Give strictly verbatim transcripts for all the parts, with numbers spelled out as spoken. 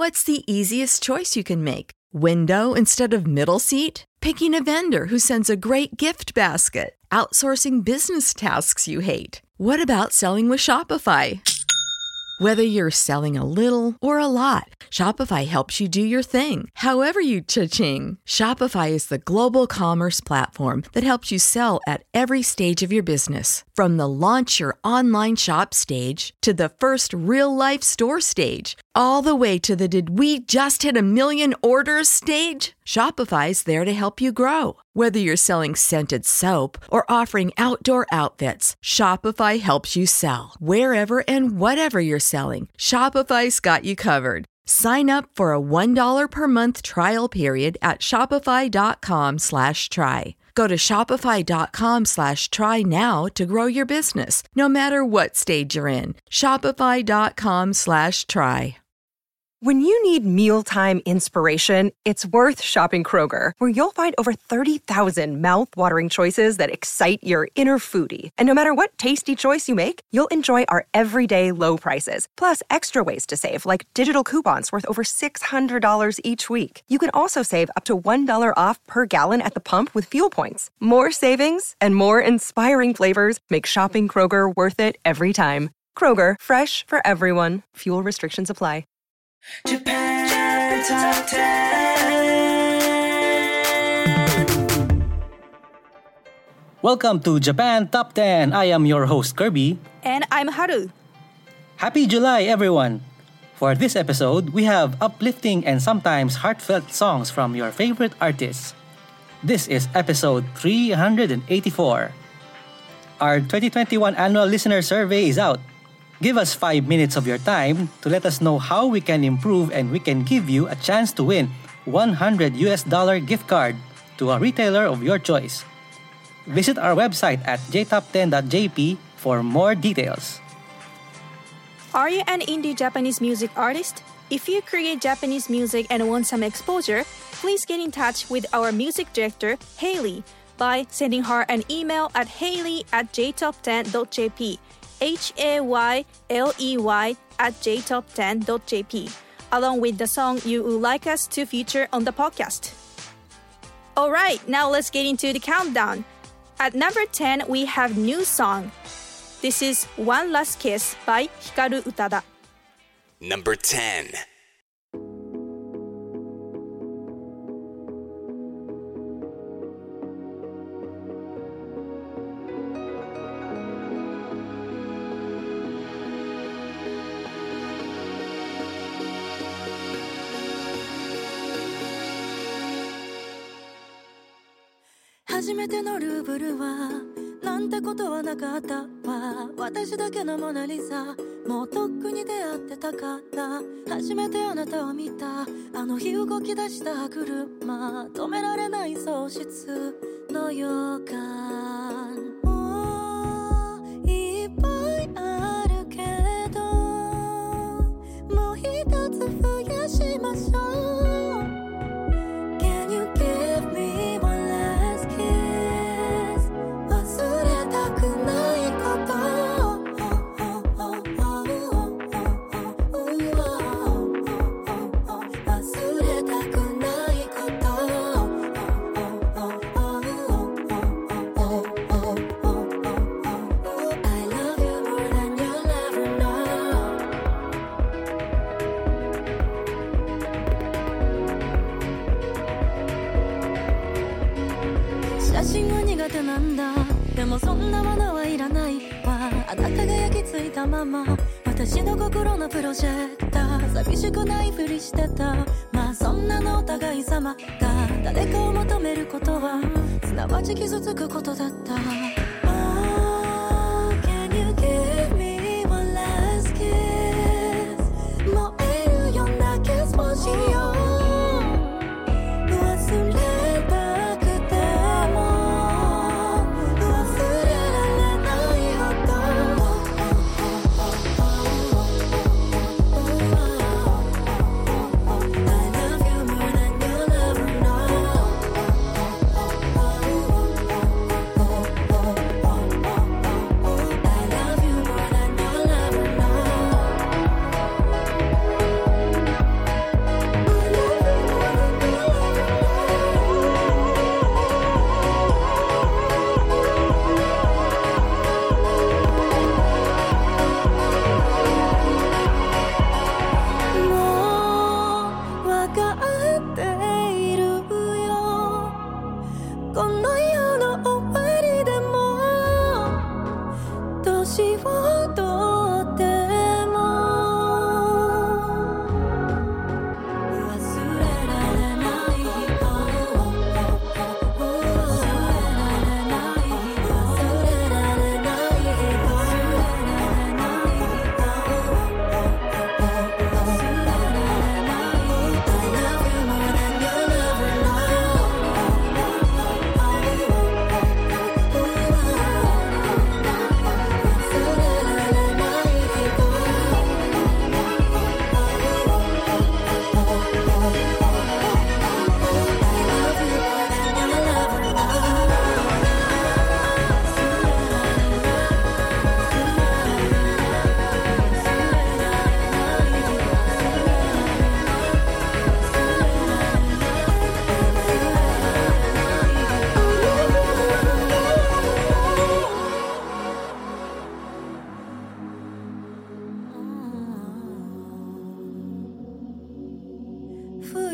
What's the easiest choice you can make? Window instead of middle seat? Picking a vendor who sends a great gift basket? Outsourcing business tasks you hate? What about selling with Shopify? Whether you're selling a little or a lot, Shopify helps you do your thing, however you cha-ching. Shopify is the global commerce platform that helps you sell at every stage of your business. From the launch your online shop stage to the first real-life store stage, all the way to the did we just hit a million orders stage. Shopify's there to help you grow. Whether you're selling scented soap or offering outdoor outfits, Shopify helps you sell. Wherever and whatever you're selling, Shopify's got you covered. Sign up for a one dollar per month trial period at shopify.com slash try. Go to shopify.com slash try now to grow your business, no matter what stage you're in. Shopify.com slash try. When you need mealtime inspiration, it's worth shopping Kroger, where you'll find over thirty thousand mouth-watering choices that excite your inner foodie. And no matter what tasty choice you make, you'll enjoy our everyday low prices, plus extra ways to save, like digital coupons worth over six hundred dollars each week. You can also save up to one dollar off per gallon at the pump with fuel points. More savings and more inspiring flavors make shopping Kroger worth it every time. Kroger, fresh for everyone. Fuel restrictions apply. Japan Top ten. Welcome to Japan Top ten. I am your host Kirby. And I'm Haru. Happy July, everyone! For this episode, we have uplifting and sometimes heartfelt songs from your favorite artists. This is episode three hundred eighty-four. Our twenty twenty-one annual listener survey is out. Give us five minutes of your time to let us know how we can improve, and we can give you a chance to win one hundred U S dollar gift card to a retailer of your choice. Visit our website at j top ten dot j p for more details. Are you an indie Japanese music artist? If you create Japanese music and want some exposure, please get in touch with our music director, Hailey, by sending her an email at hailey at j top ten dot j p. H A Y L E Y at j top ten dot j p, along with the song you would like us to feature on the podcast. Alright, now let's get into the countdown. At number ten, we have new song. This is One Last Kiss by Hikaru Utada. Number ten. 初めてのルーブルはなんてことはなかったわ。私だけのモナリザ、もうとっくに出会ってたから。初めてあなたを見たあの日動き出した車、止められない喪失の予感。もういっぱいあるけど、もう一つ増やしましょう。写真は苦手なんだ。でもそんなものはいらないわ。あなたが焼き付いたまま、私の心のプロジェクター。寂しくないふりしてた。まあそんなのお互い様が。誰かを求めることはすなわち傷つくことだった。Oh, can you give me one last kiss? 燃えるようなキスをしよう。忘れ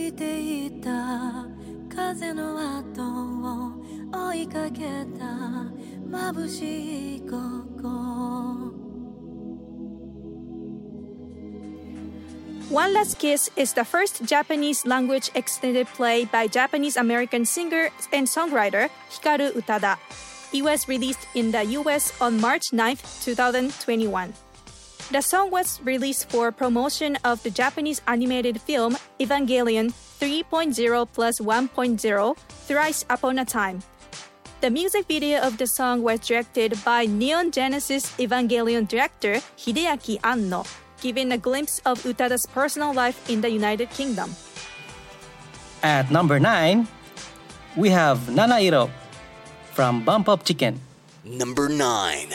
いていた風の後を追いかけた眩しい午後 One Last Kiss is the first Japanese language extended play by Japanese American singer and songwriter Hikaru Utada. It was released in the U S on March ninth, twenty twenty-one. The song was released for promotion of the Japanese animated film Evangelion three point oh plus one point oh Thrice Upon a Time. The music video of the song was directed by Neon Genesis Evangelion director Hideaki Anno, giving a glimpse of Utada's personal life in the United Kingdom. At number nine, we have Nanairo from Bump Up Chicken. Number nine.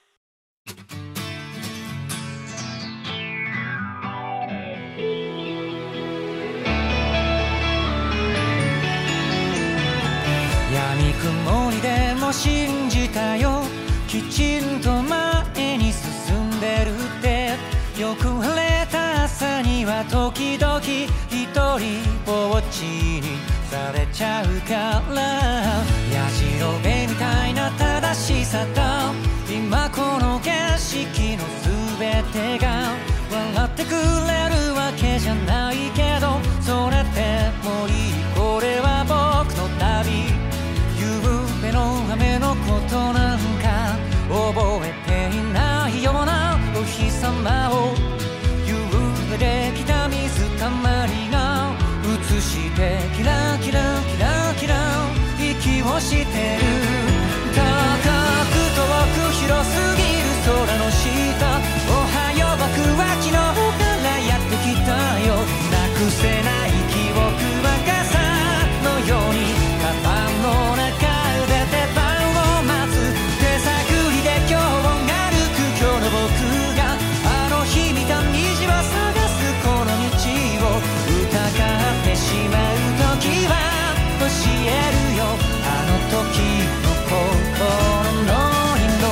闇雲にでも信じたよきちんと前に進んでるってよく晴れた朝には時々一人ぼっちにされちゃうからやじろべみたいな正しさと今この景色の全てが笑ってくれるわけじゃないけどそれでもいいこれは僕の旅夢の雨のことなんか覚えていないようなお日様を夕べできた水たまりが映してキラキラキラキラ息をしてる高く遠く広すぎる空の下おはよう僕は昨日からやってきたよなくせない記憶は傘のようにカバンの中しまう時は教えるよあの時の心の色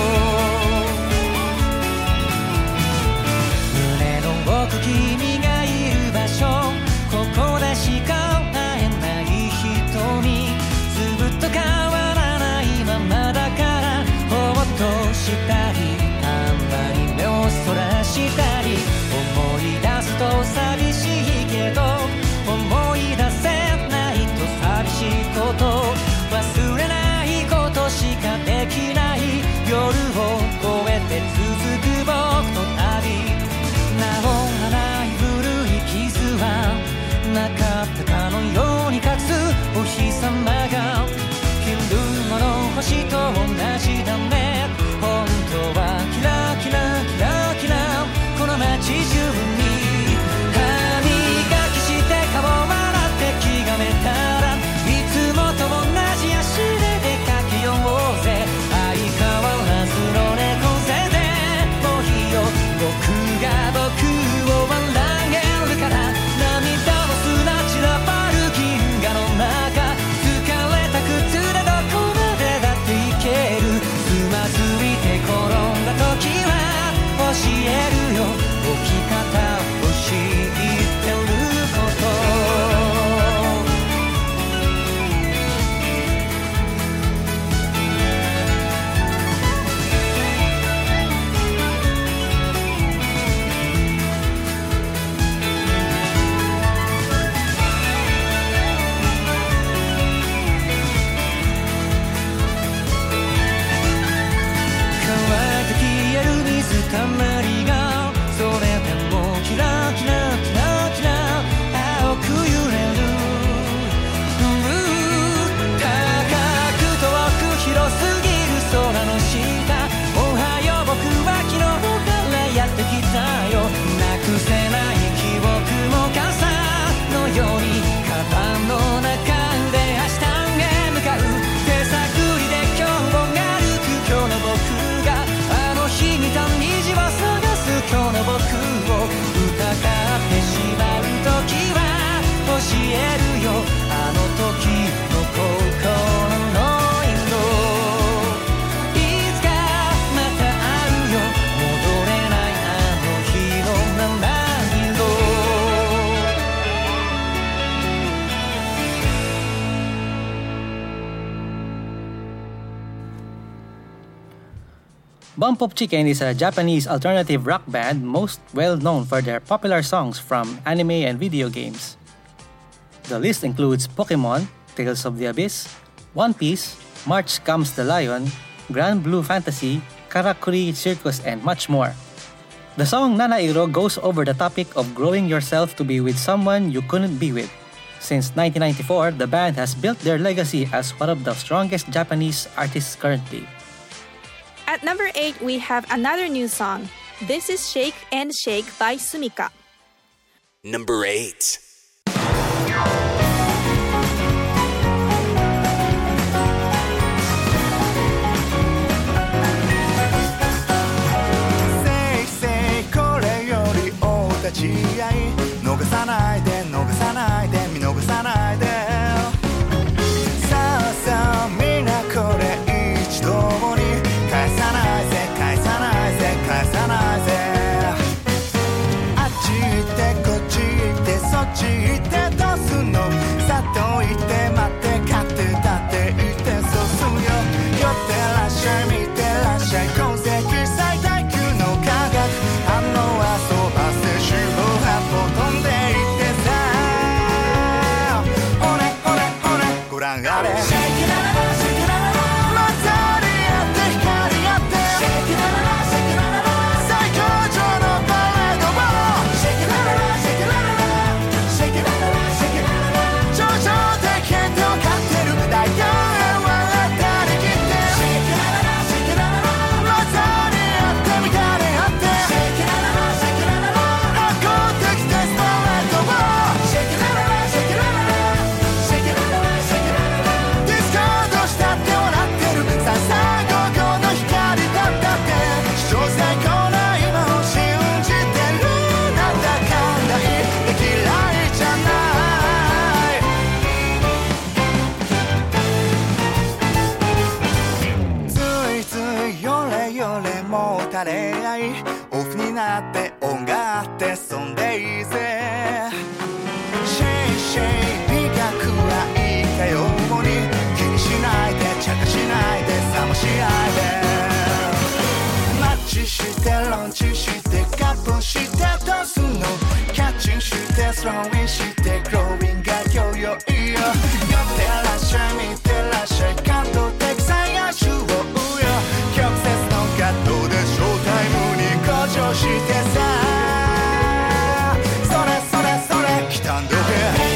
胸の奥君がいる場所ここでしか会えない瞳ずっと変わらないままだからほっとしたりたまに目をそらしたり思い出すと寂しいけど思い出せないと寂しいこと忘れないことしかできない夜を越えて続く僕の旅治らない古い傷はなかったかのように隠すお日様が昼間の星と同じだね本当はキラキラキラキラこの街中に顔を笑って気がめたらいつもと同じ足で出かけようぜ相変わらずの猫背でもういいよ僕が僕を笑えるから涙の砂散らばる銀河の中疲れた靴でどこまでだって行けるつまずいて転んだ時は教えるよ置き方を知ってるたまりがそれでもキラキラキラキラ青く揺れる高く遠く広すぎる空の下おはよう僕は昨日からやってきたよなくせない記憶も傘のようにカバンの中で明日へ向かう手探りで今日も歩く今日の僕があの日見た虹を探す今日の僕を疑ってしまう時は教えるよあの時の心の色いつかまた会うよ戻れないあの日の七色 Bump of Chicken is a Japanese alternative rock band most well known for their popular songs from anime and video games. The list includes Pokemon, Tales of the Abyss, One Piece, March Comes the Lion, Grand Blue Fantasy, Karakuri Circus, and much more. The song Nanairo goes over the topic of growing yourself to be with someone you couldn't be with. Since nineteen ninety-four, the band has built their legacy as one of the strongest Japanese artists currently. At number eight, we have another new song. This is Shake and Shake by Sumika. Number eight. Say, say, これよりお立ち会い逃さないで逃さないで見逃さないでさあさあみんなこれ一度に返さないぜ返さないぜ返さないぜあっち行ってこっち行ってそっち行ってどうすんのさっと行って待って勝って立って行ってそうすんよ寄ってらっしゃい見てらっしゃい今世紀最大級の科学反応はそばせ四方八方飛んでいってさほれほれほれご覧あれオフになって音があってそんでいいぜシェイシェイ美学はいいかように気にしないで茶化しないで冷まし合いでマッチしてロンチしてカップしてどうすんのキャッチンしてスローインしてグローインが今日よいいよ寄ってらっしゃい見てらっしゃい感動的最愛種をうよ曲折のガットでショータイムに向上してさそれそれそれ来たんどけ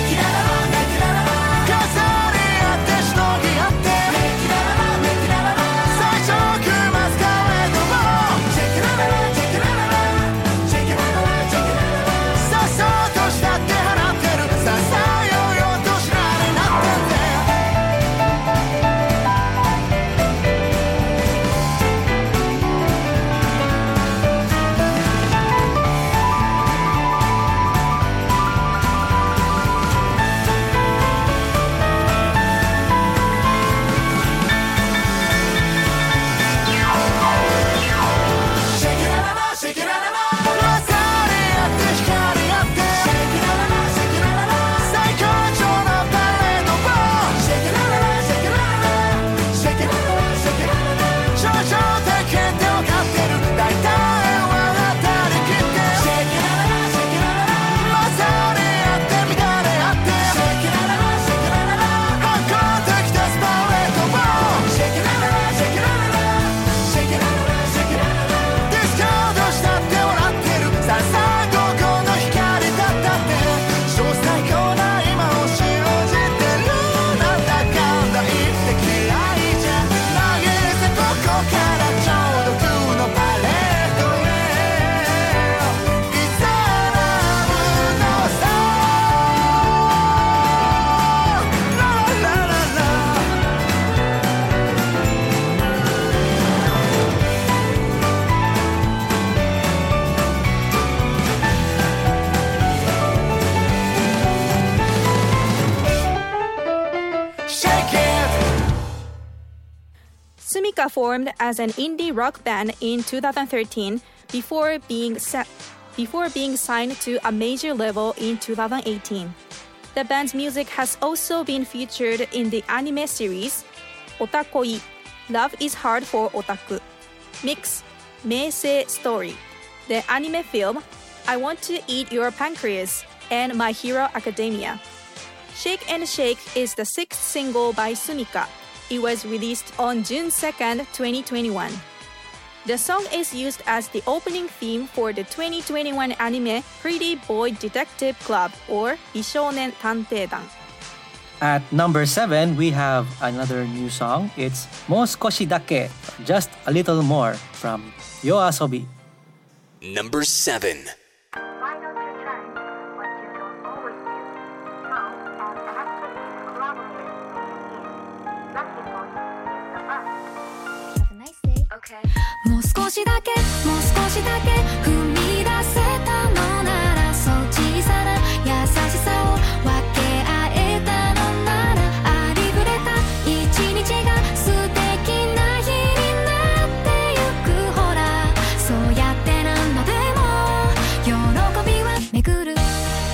Sumika formed as an indie rock band in two thousand thirteen before being sa- before being signed to a major label in two thousand eighteen. The band's music has also been featured in the anime series Otakoi, Love is Hard for Otaku, Mix, Meisei Story, the anime film I Want to Eat Your Pancreas, and My Hero Academia. Shake and Shake is the sixth single by Sumika. It was released on June second, twenty twenty-one. The song is used as the opening theme for the twenty twenty-one anime Pretty Boy Detective Club or Bishounen Tanteidan. At number seven, we have another new song. It's Mo Skoshi Dake, Just a Little More from YOASOBI. Number seven. Okay. もう少しだけもう少しだけ踏み出せたのならそう小さな優しさを分け合えたのならありふれた一日が素敵な日になってゆくほらそうやって何度でも喜びは巡る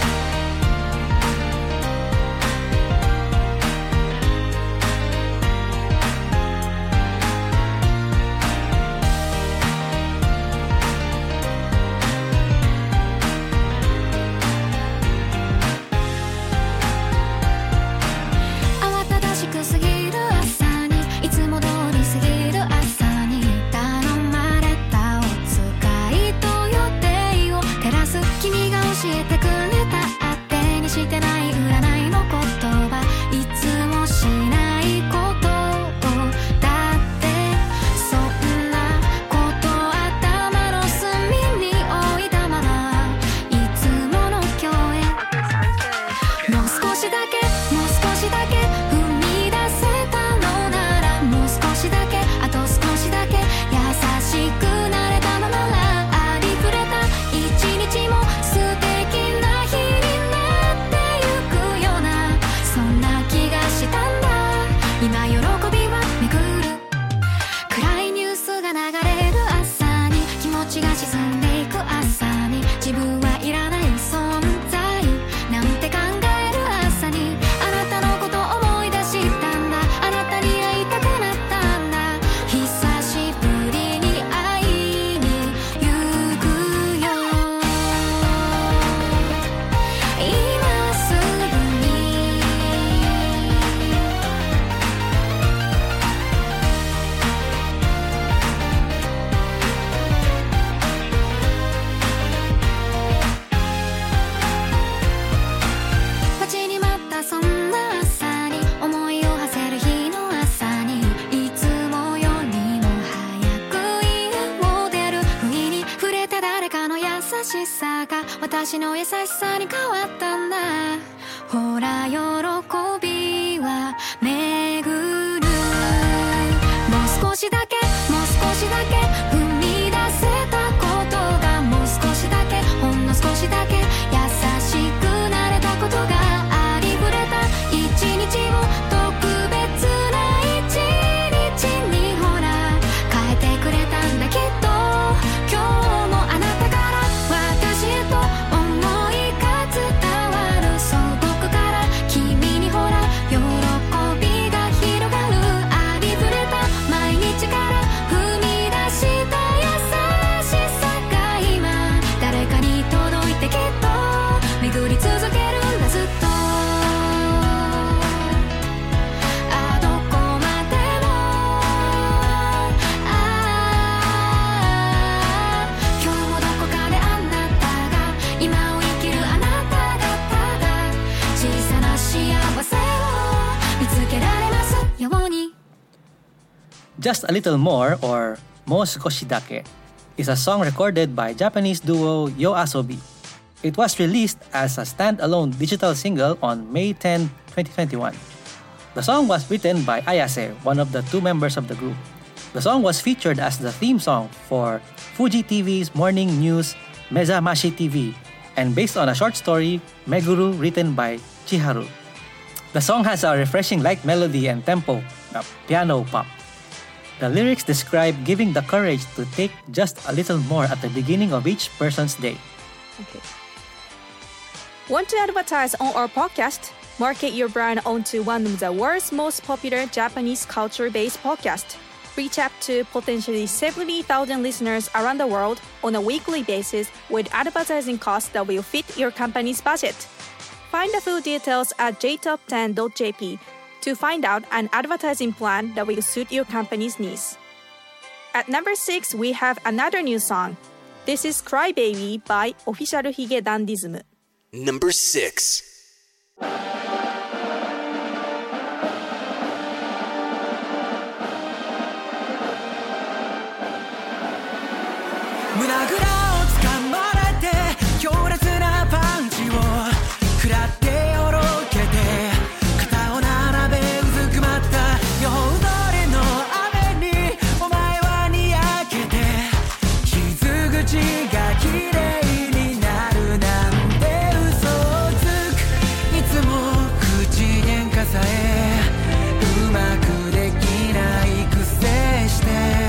私の優しさに変わったんだほら喜びは巡るもう少しだけもう少しだけ踏み出せたことがもう少しだけほんの少しだけ優しくなれたことがありふれた一日を特別な一日にほら変えてくれたんだきっと今日もあなたから私へと思いが伝わるそう僕から君にほら喜びが広がるありふれた毎日から踏み出した優しさが今誰かに届いてきっと巡り続けるんだずっとあどこまでもあ今日もどこかであなたが今を生きるあなたがただ小さな幸せを見つけられますように Just a Little More, or Mo Skoshi Dake, is a song recorded by Japanese duo YOASOBI. It was released as a standalone digital single on May tenth, twenty twenty-one. The song was written by Ayase, one of the two members of the group. The song was featured as the theme song for Fuji T V's morning news Mezamashi T V and based on a short story Meguru written by Chiharu. The song has a refreshing light melody and tempo, a piano pop. The lyrics describe giving the courage to take just a little more at the beginning of each person's day. Okay. Want to advertise on our podcast? Market your brand onto one of the world's most popular Japanese culture-based podcasts. reach out to potentially seventy thousand listeners around the world on a weekly basis with advertising costs that will fit your company's budget. Find the full details at j top ten dot j p to find out an advertising plan that will suit your company's needs. At number six, we have another new song. This is Cry Baby by Official Hige Dandism. Number six. 胸ぐらを掴まれて強烈なパンチを食らってよろけて肩を並べうずくまった夜通りの雨にお前はにやけて傷口が綺麗になるなんて嘘をつくいつも口喧嘩さえうまくできないくせして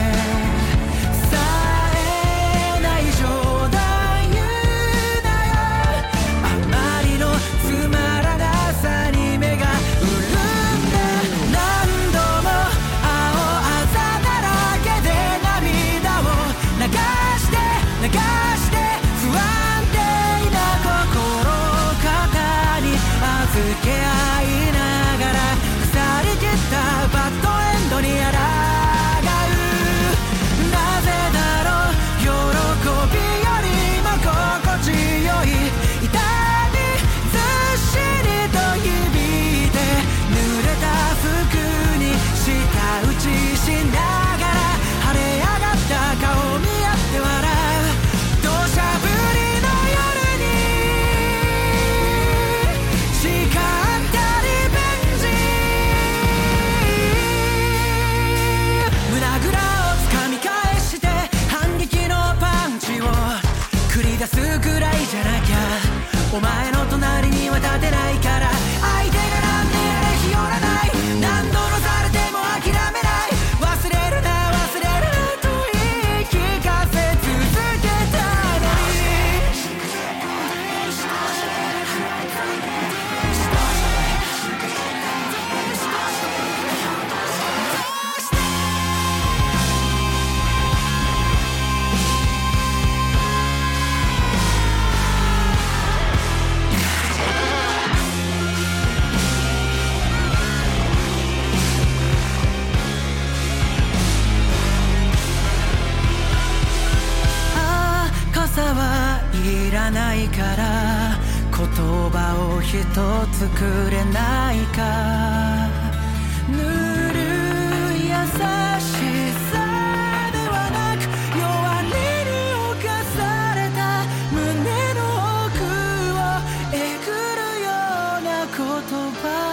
お前の隣には立てないから相手がなんであれ日和らない何度のされても諦めない忘れるな忘れるなと言い聞かせ続けたのにいらないから言葉を一つくれないかぬるい優しさではなく弱音に侵された胸の奥をえぐるような言葉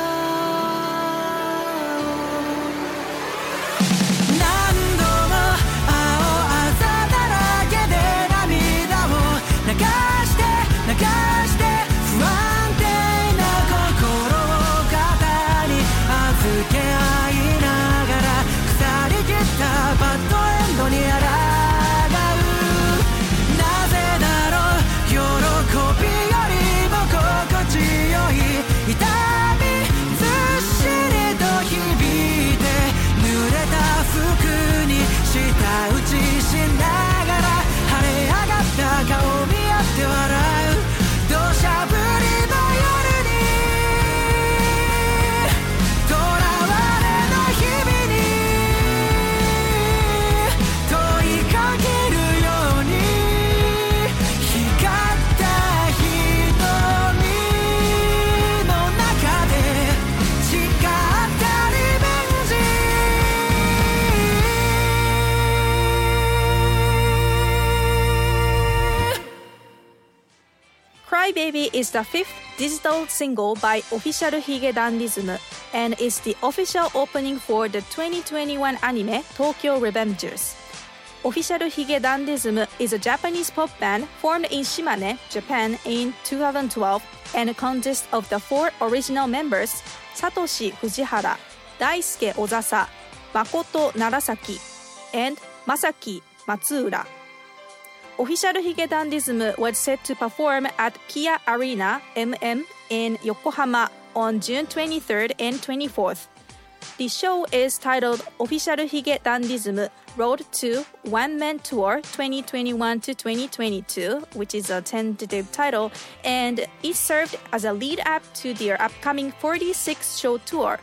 Baby is the fifth digital single by Official Hige Dandism and is the official opening for the twenty twenty-one anime Tokyo Revengers. Official Hige Dandism is a Japanese pop band formed in Shimane, Japan in two thousand twelve and consists of the four original members Satoshi Fujihara, Daisuke Ozasa, Makoto Narasaki, and Masaki Matsuura.Official Hige Dandism was set to perform at Kia Arena M M in Yokohama on June twenty-third and twenty-fourth. The show is titled Official Hige Dandism Road to One Man Tour twenty twenty-one to twenty twenty-two, which is a tentative title, and it served as a lead-up to their upcoming forty-six show tour.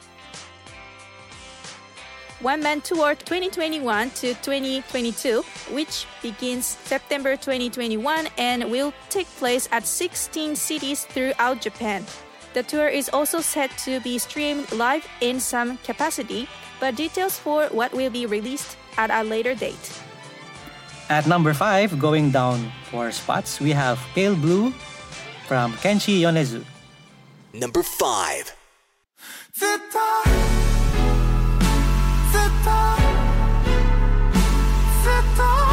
One Man Tour twenty twenty-one to twenty twenty-two, which begins September twenty twenty-one and will take place at sixteen cities throughout Japan. The tour is also set to be streamed live in some capacity, but details for what will be released at a later date. At number five, going down four spots, we have Pale Blue from Kenshi Yonezu. Number five. ずっとずっとずっ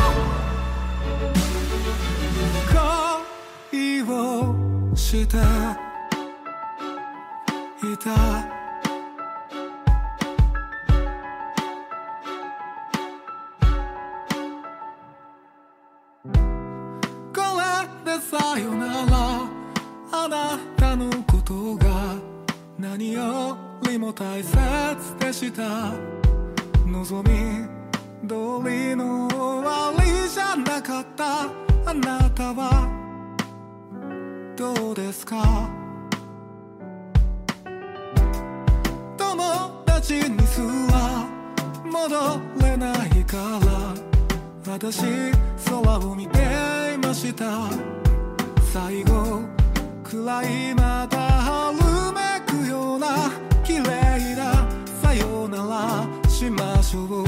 と恋をしていたこれでさよならあなたのことが何よりも大切でした望み通りの終わりじゃなかったあなたはどうですか友達にすら戻れないから私空を見ていました最後くらいまた春めくような綺麗なさよならしましょう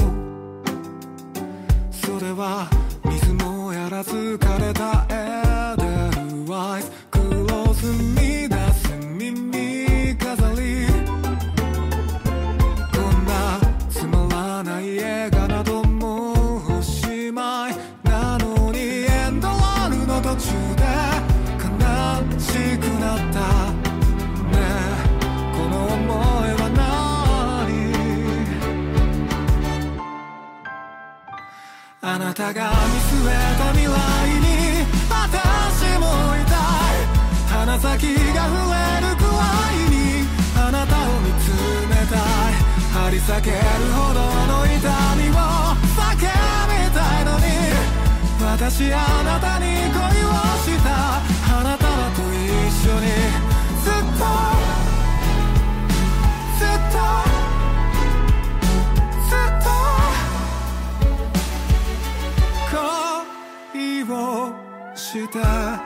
それは水もやらず枯れたエデルワイスクロスに出す耳飾りこんなつまらない映画などもおしまいなのにエンドロールの途中で悲しくなったねえこの想いは何あなたが見据えた未来に私もいたい鼻先が触れるくらいにあなたを見つめたい張り裂けるほどの痛みを叫びたいのに私あなたに恋をしたあなたはと一緒にずっとずっとずっと恋をして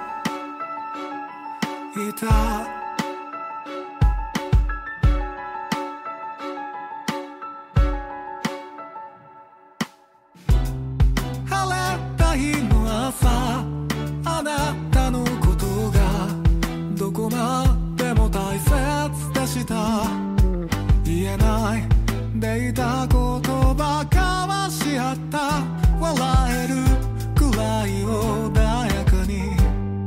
いたあなたのことがどこまでも大切でした言えないでいた言葉交わし合った笑えるくらい穏やかに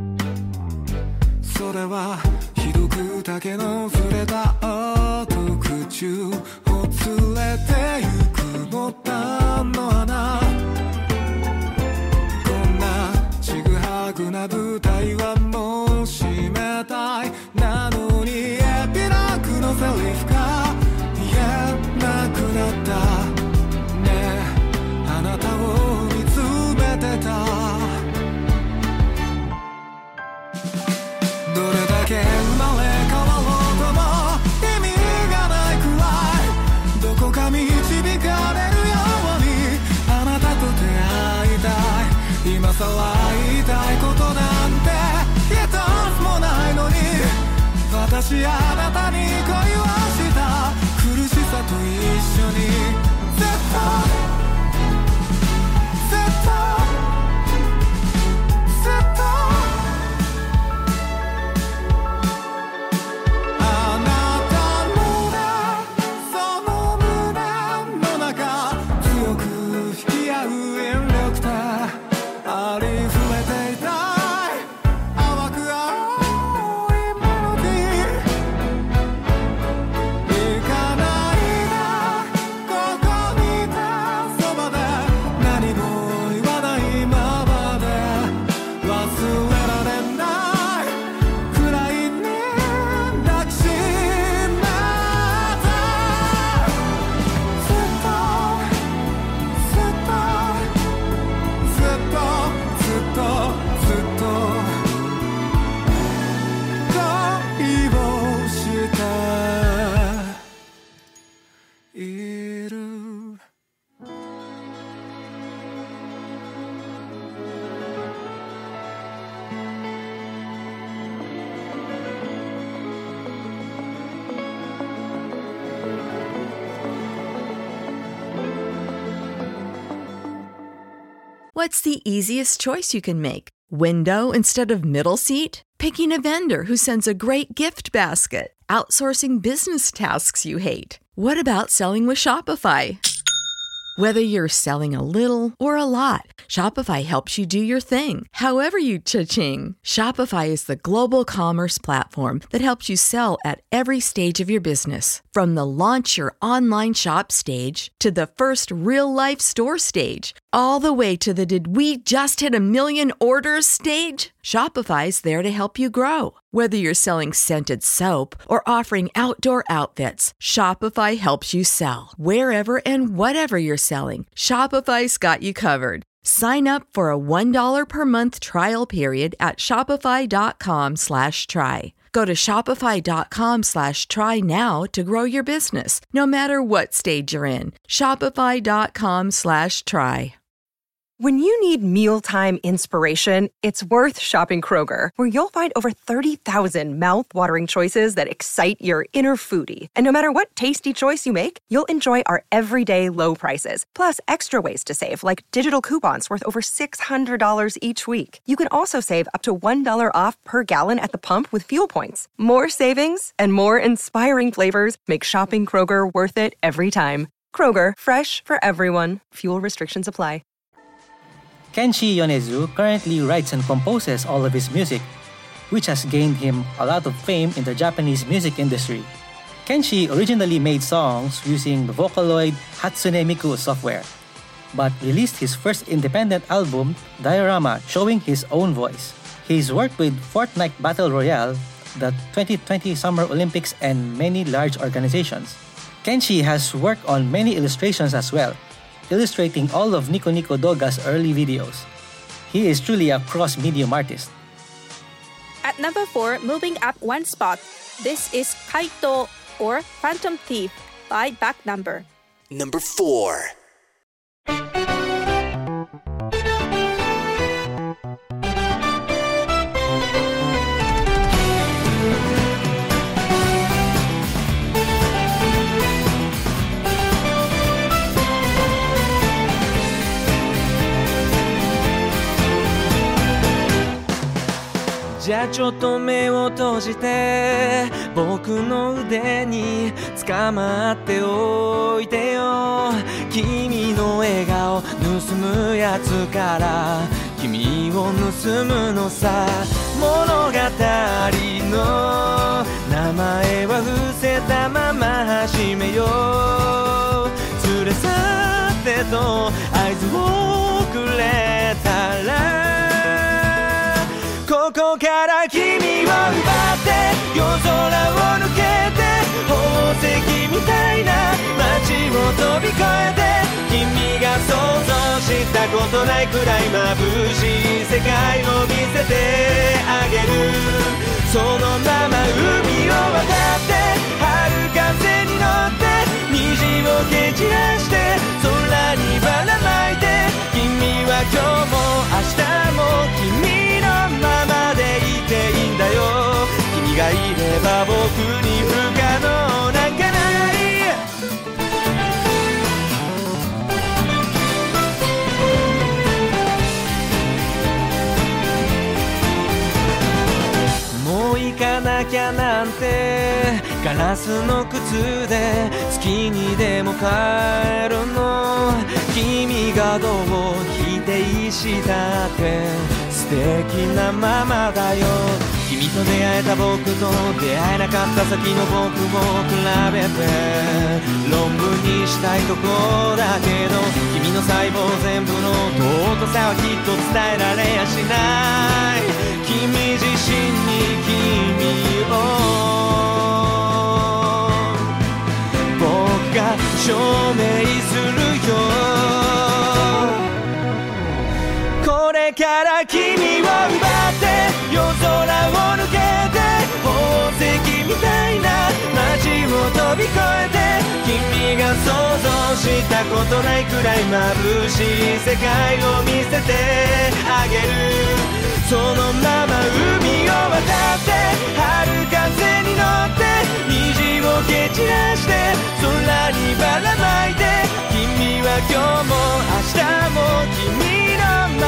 それはひどく竹の触れた音口を連れてゆくボタンの穴楽な舞台はもう閉めたいなのにエピローグのセリフが言えなくなったねえあなたを見つめてたどれだけ生まれ変わろうとも意味がないくらいどこか導かれるようにあなたと出会いたい今さら言いたいことなんて一つもないのに私あなたに恋をした苦しさと一緒にずっとずっとずっとあなたのその胸の中強く引き合う引力でありふれていたい淡く青いメロディー行かないでここにいて What's the easiest choice you can make? Window instead of middle seat? Picking a vendor who sends a great gift basket? Outsourcing business tasks you hate? What about selling with Shopify? Whether you're selling a little or a lot, Shopify helps you do your thing, however you cha-ching. Shopify is the global commerce platform that helps you sell at every stage of your business. From the launch your online shop stage to the first real-life store stage, all the way to the did we just hit a million orders stage. Shopify's there to help you grow. Whether you're selling scented soap or offering outdoor outfits, Shopify helps you sell. Wherever and whatever you're selling, Shopify's got you covered. Sign up for a one dollar per month trial period at shopify.com slash try. Go to shopify.com slash try now to grow your business, no matter what stage you're in. Shopify.com slash try. When you need mealtime inspiration, it's worth shopping Kroger, where you'll find over thirty thousand mouth-watering choices that excite your inner foodie. And no matter what tasty choice you make, you'll enjoy our everyday low prices, plus extra ways to save, like digital coupons worth over six hundred dollars each week. You can also save up to one dollar off per gallon at the pump with fuel points. More savings and more inspiring flavors make shopping Kroger worth it every time. Kroger, fresh for everyone. Fuel restrictions apply. Kenshi Yonezu currently writes and composes all of his music, which has gained him a lot of fame in the Japanese music industry. Kenshi originally made songs using the Vocaloid Hatsune Miku software, but released his first independent album, Diorama, showing his own voice. He's worked with Fortnite Battle Royale, the twenty twenty Summer Olympics, and many large organizations. Kenshi has worked on many illustrations as well, illustrating all of Nico Nico Doga's early videos. He is truly a cross-medium artist. At number four, moving up one spot, this is Kaito or Phantom Thief by Back Number. Number four. じゃあちょっと目を閉じて僕の腕に捕まっておいてよ君の笑顔盗むやつから君を盗むのさ物語の名前は伏せたまま始めよう連れ去ってと合図をくれたらここから君を奪って夜空を抜けて宝石みたいな街を飛び越えて君が想像したことないくらい眩しい世界を見せてあげるそのまま海を渡って春風に乗って虹を蹴散らして空にばらまいて君は今日も明日も君のままでいていいんだよ君がいれば僕に不可能なんかないもう行かなきゃなんてガラスの靴で月にでも帰るの君がどう否定したって素敵なままだよ君と出会えた僕と出会えなかった先の僕を比べて論文にしたいとこだけど君の細胞全部の尊さはきっと伝えられやしない君自身に君を僕が証明するよこれから君を奪って夜空を抜けて宝石みたいな街を飛び越えて君が想像したことないくらい眩しい世界を見せてあげるそのまま海を渡って春風に乗って虹を蹴散らして空にばらまいて君は今日も明日も君の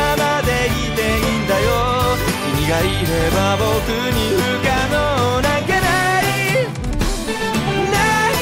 がいれば僕に不可能なんかないない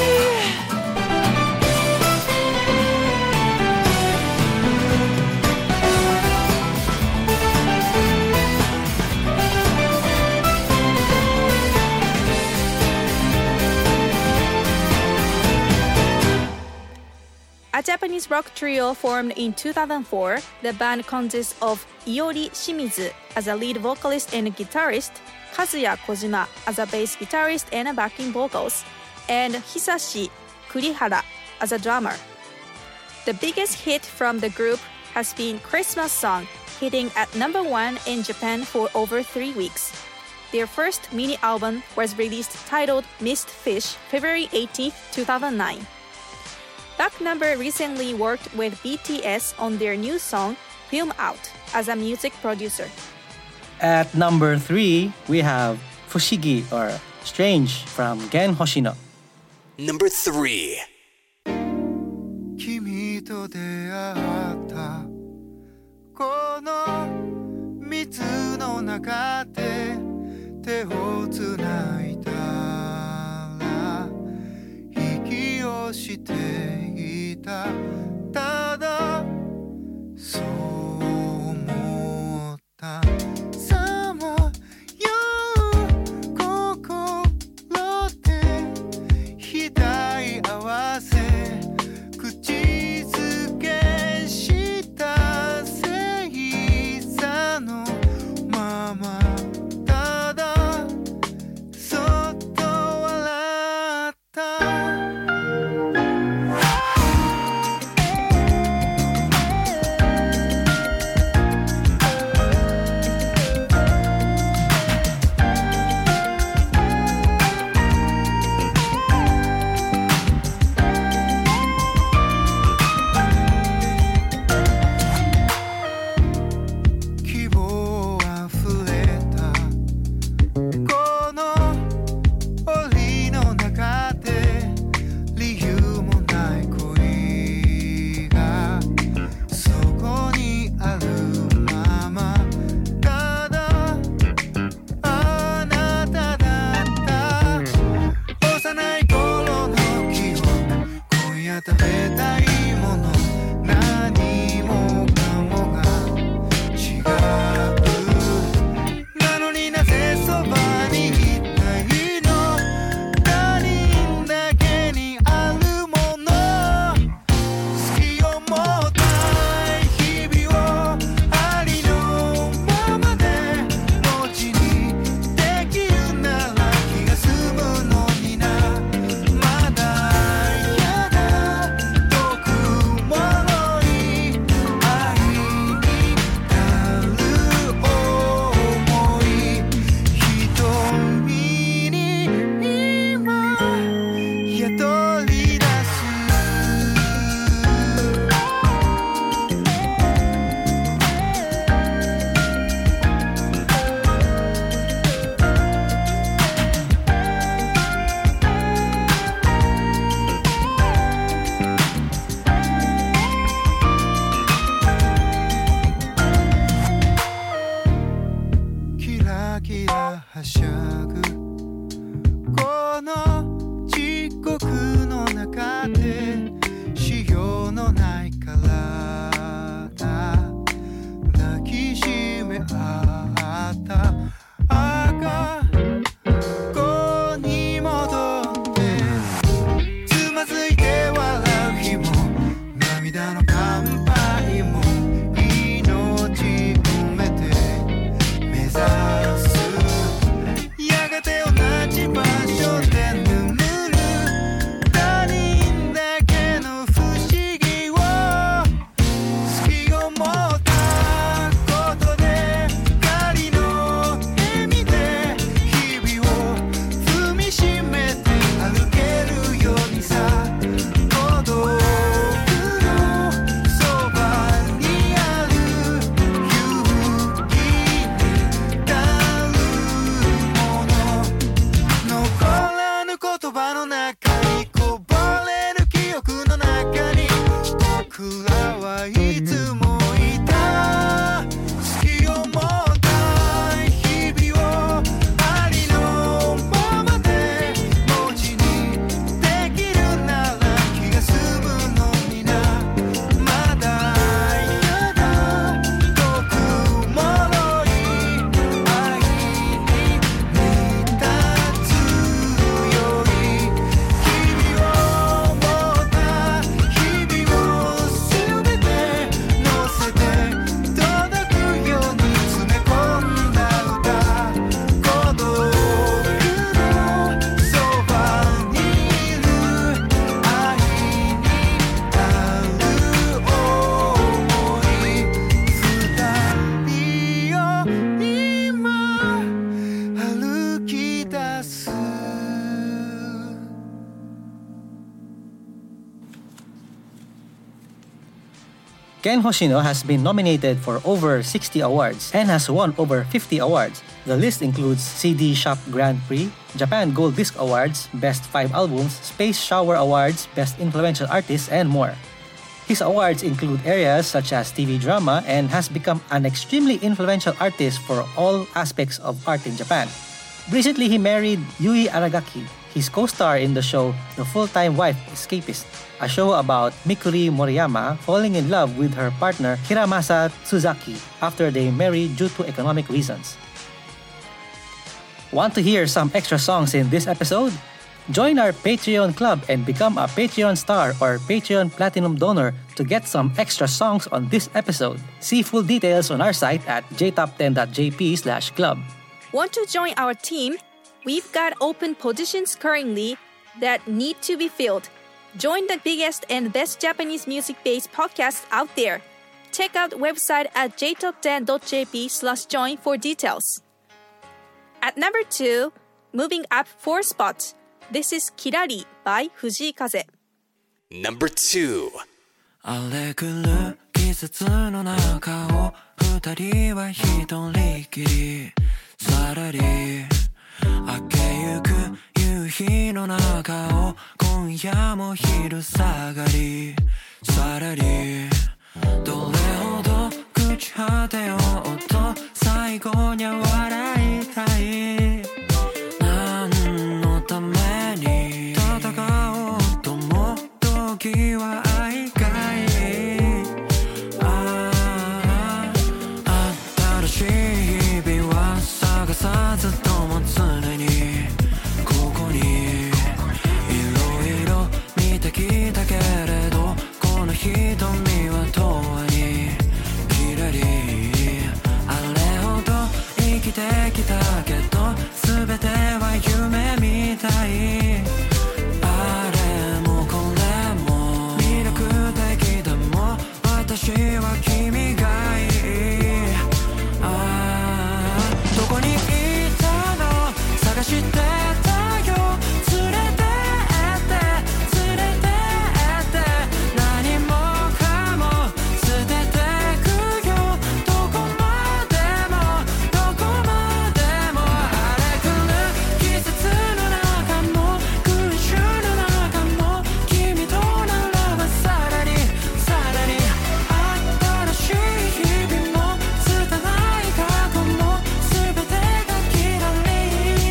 A Japanese rock trio formed in two thousand four, the band consists of Iori Shimizu as a lead vocalist and guitarist, Kazuya Kojima as a bass guitarist and backing vocals, and Hisashi Kurihara as a drummer. The biggest hit from the group has been Christmas Song, hitting at number one in Japan for over three weeks. Their first mini album was released titled Mist Fish, February eighteenth, two thousand nine. Back Number recently worked with B T S on their new song, Film Out, as a music producer. At number three, we have Fushigi or Strange from Gen Hoshino. Number three. 君と出会ったこの水の中で手をつないだら息をしていたただそう思ったさまよう心で額合わせ口づけした星座のままただそっと笑ったいつもいた好きを持った日 Ken Hoshino has been nominated for over sixty awards and has won over fifty awards. The list includes C D Shop Grand Prix, Japan Gold Disc Awards, Best five Albums, Space Shower Awards, Best Influential Artist, and more. His awards include areas such as T V drama and has become an extremely influential artist for all aspects of art in Japan. Recently, he married Yui Aragaki, his co-star in the show The Full-Time Wife Escapist, a show about Mikuri Moriyama falling in love with her partner Hiramasa Tsuzaki after they married due to economic reasons. Want to hear some extra songs in this episode? Join our Patreon club and become a Patreon star or Patreon Platinum donor to get some extra songs on this episode. See full details on our site at j top ten dot j p slash club. Want to join our team? We've got open positions currently that need to be filled. Join the biggest and best Japanese music-based podcast out there. Check out the website at j top ten dot j p slash join for details. At number two, moving up four spots, this is Kirari by Fujii Kaze. Number two. 荒れ狂う季節の中を二人は一人きりさらり明けゆく夕日の中を今夜も昼下がりさらりどれほど朽ち果てようと最後には笑いたい何のために戦おうとも時は愛かいああ新しい日々は探さずとも常にここにいろいろ見てきたけれどこの瞳は永遠にきらりあれほど生きてきたけど全ては夢みたいあれもこれも魅力的でも私は君がいいああどこにいたの探してたよ連れてって連れてって何もかも捨ててくよどこまでもどこまでも荒れ狂う季節の中も群衆の中も君とならばさらにさらに新しい日々も拙い過去も全てがきらり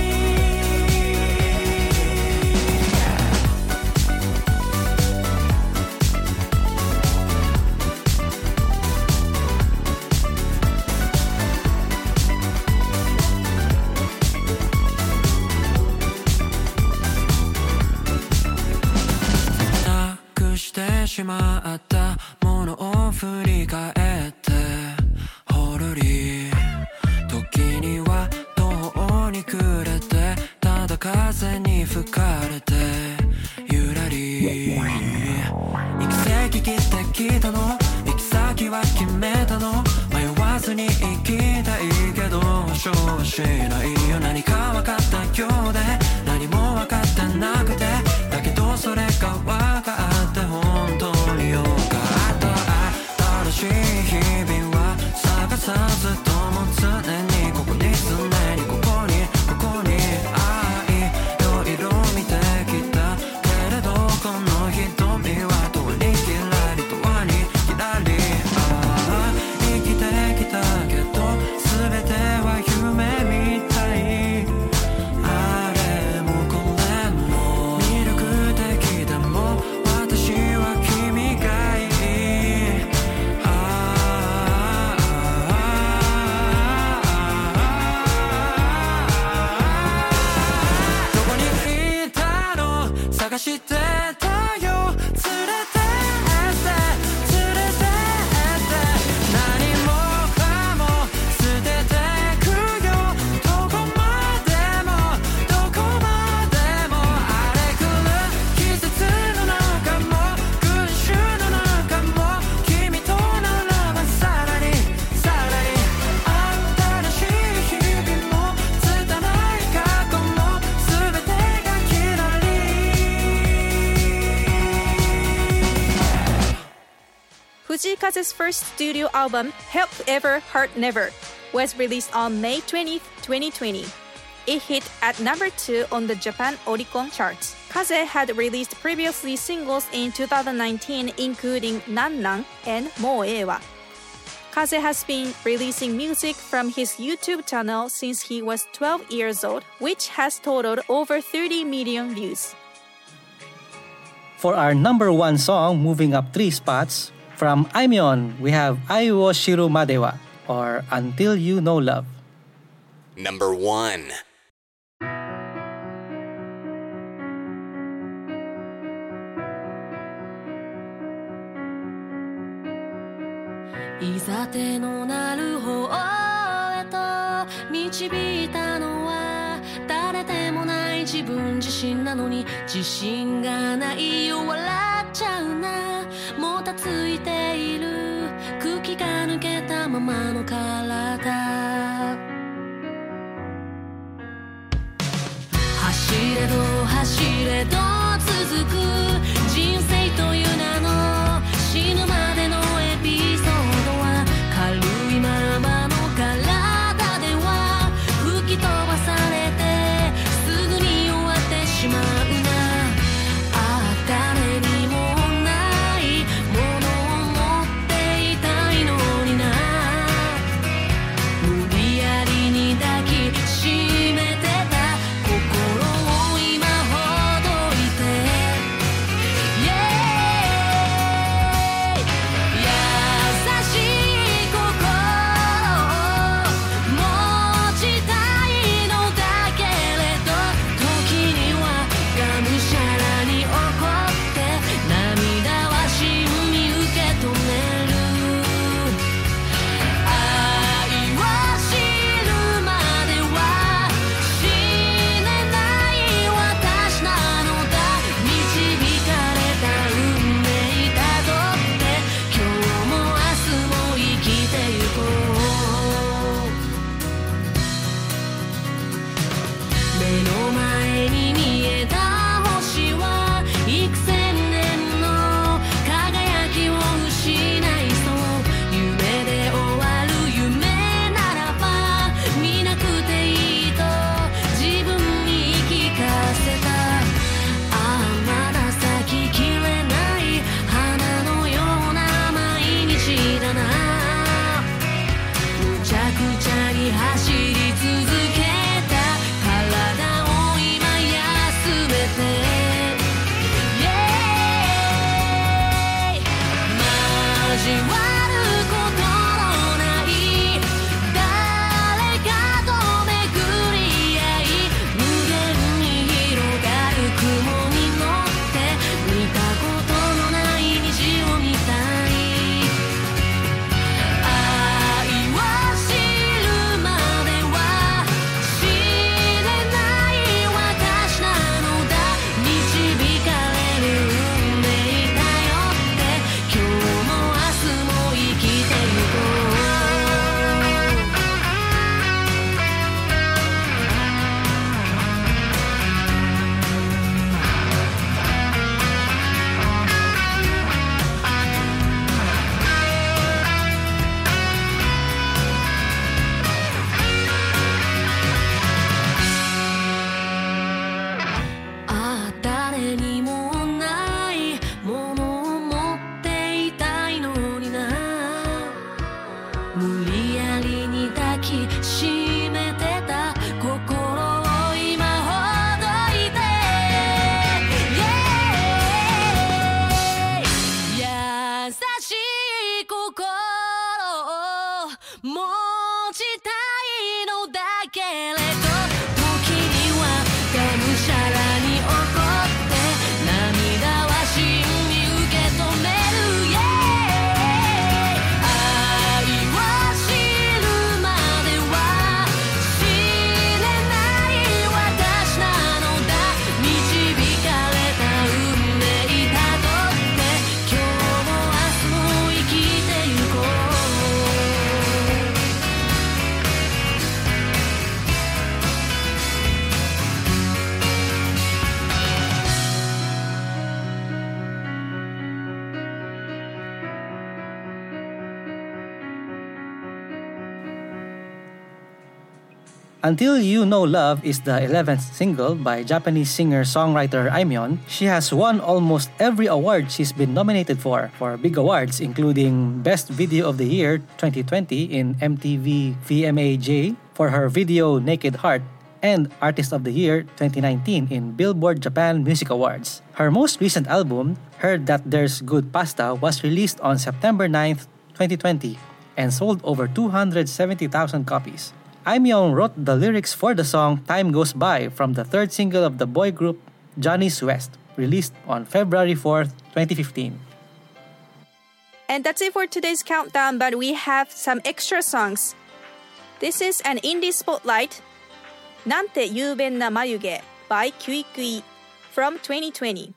なくしてしまったものを振り返ってほろり時には途方に暮れてただ風に吹かれてゆらり行き先切ってきたの行き先は決めたの迷わずに行きたいけど保証はしないよ何か分かったようで何も分かってなくてだけどそれが分かって本当によかった新しい日々は探さずとも常にここに常にここにここに愛いろいろ見てきたけれどこの瞳は遠にきらり遠にきらりああ生きてきたけど全ては夢みたいあれもこれも魅力的でも私は君がいいああどこにいたの探してたよ連れてって連れてって何もかも捨ててくよどこまでもどこまでも荒れ狂う季節の中も群衆の中も君とならばさらにさらに新しい日々も拙い過去も全てがきらり Fujii Kaze's first studio album, Help Ever Heart Never, was released on May twentieth, twenty twenty. It hit at number two on the Japan Oricon charts. Kaze had released previously singles in two thousand nineteen, including Nan Nan and Mo Ewa. Kaze has been releasing music from his YouTube channel since he was twelve years old, which has totaled over thirty million views. For our number one song, moving up three spots, from Aimyon, we have Ai wo Shiru Madewa, or Until You Know Love. Number one. いざてのなる方へと導いたのは誰でもない自分自身なのに自信がないよ笑っちゃうなもたついている空気が抜けたままの体走れど走れど続く人生という名の死ぬまでのエピソードは軽いままの体では吹き飛ばされてすぐに終わってしまうなああ誰にもないものを持っていたいのにな Until You Know Love is the eleventh single by Japanese singer-songwriter Aimyon. She has won almost every award she's been nominated for, for big awards including Best Video of the Year twenty twenty in M T V V M A J for her video Naked Heart, and Artist of the Year twenty nineteen in Billboard Japan Music Awards. Her most recent album, Heard That There's Good Pasta, was released on September ninth, twenty twenty and sold over two hundred seventy thousand copies. Aimyon wrote the lyrics for the song Time Goes By from the third single of the boy group Johnny's West, released on February fourth, twenty fifteen. And that's it for today's countdown, but we have some extra songs. This is an indie spotlight, なんて雄弁な眉毛 by Kui Kui from twenty twenty.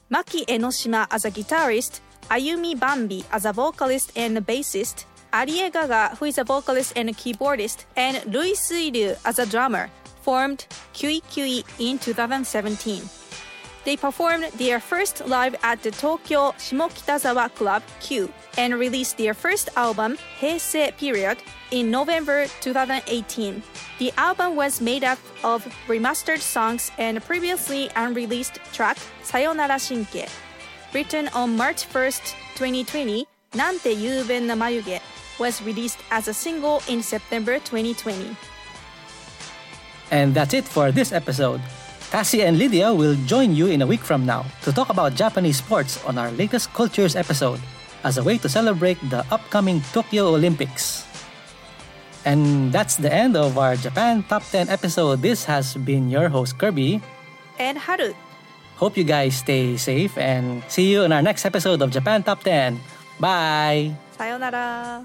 Maki Enoshima as a guitarist, Ayumi Bambi as a vocalist and bassist, Arie Gaga, who is a vocalist and keyboardist, and Rui Suiryu as a drummer, formed Q Q in two thousand seventeen. They performed their first live at the Tokyo Shimokitazawa Club Q and released their first album, Heisei Period, in November two thousand eighteen. The album was made up of remastered songs and previously unreleased track, Sayonara Shinke. Written on March first, twenty twenty, Nante Yuben na Mayuge was released as a single in September twenty twenty. And that's it for this episode. Cassie and Lydia will join you in a week from now to talk about Japanese sports on our latest Cultures episode as a way to celebrate the upcoming Tokyo Olympics. And that's the end of our Japan Top ten episode. This has been your host Kirby and Haru. Hope you guys stay safe and see you in our next episode of Japan Top ten. Bye! Sayonara!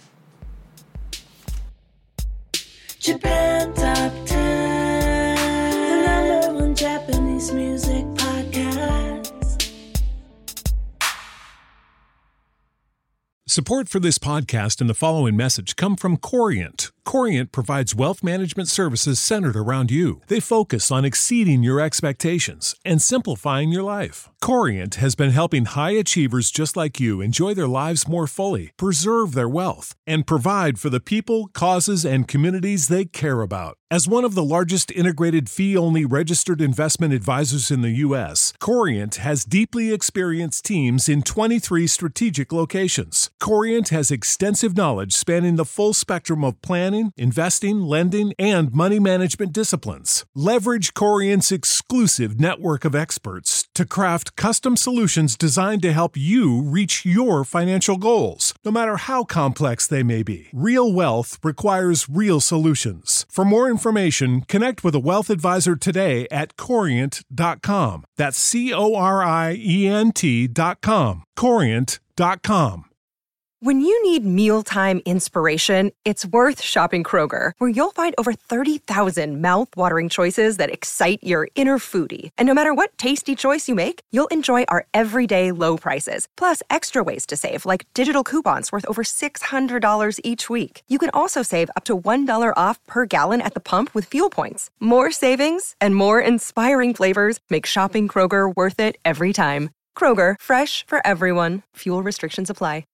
Japan Top ten, the number one Japanese music podcast. Support for this podcast and the following message come from Corient. Corient provides wealth management services centered around you. They focus on exceeding your expectations and simplifying your life. Corient has been helping high achievers just like you enjoy their lives more fully, preserve their wealth, and provide for the people, causes, and communities they care about. As one of the largest integrated fee-only registered investment advisors in the U S, Corient has deeply experienced teams in twenty-three strategic locations. Corient has extensive knowledge spanning the full spectrum of planning, investing, lending, and money management disciplines. Leverage Corient's exclusive network of experts to craft custom solutions designed to help you reach your financial goals, no matter how complex they may be. Real wealth requires real solutions. For more information, connect with a wealth advisor today at corient dot com. That's C O R I E N T dot com. corient dot com. When you need mealtime inspiration, it's worth shopping Kroger, where you'll find over thirty thousand mouth-watering choices that excite your inner foodie. And no matter what tasty choice you make, you'll enjoy our everyday low prices, plus extra ways to save, like digital coupons worth over six hundred dollars each week. You can also save up to one dollar off per gallon at the pump with fuel points. More savings and more inspiring flavors make shopping Kroger worth it every time. Kroger, fresh for everyone. Fuel restrictions apply.